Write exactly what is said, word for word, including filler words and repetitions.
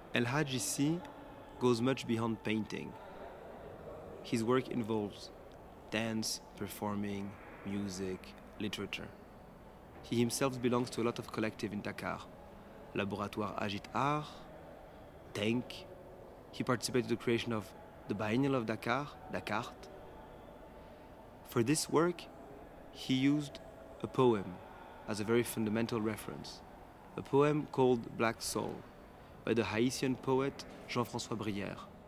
El Hadji Sy goes much beyond painting. His work involves dance, performing, music, literature. He himself belongs to a lot of collective in Dakar. Laboratoire Agit Art, Denk. He participated in the creation of the Biennial of Dakar, Dakart. For this work, he used a poem as a very fundamental reference, a poem called Black Soul by the Haitian poet Jean-François Brière.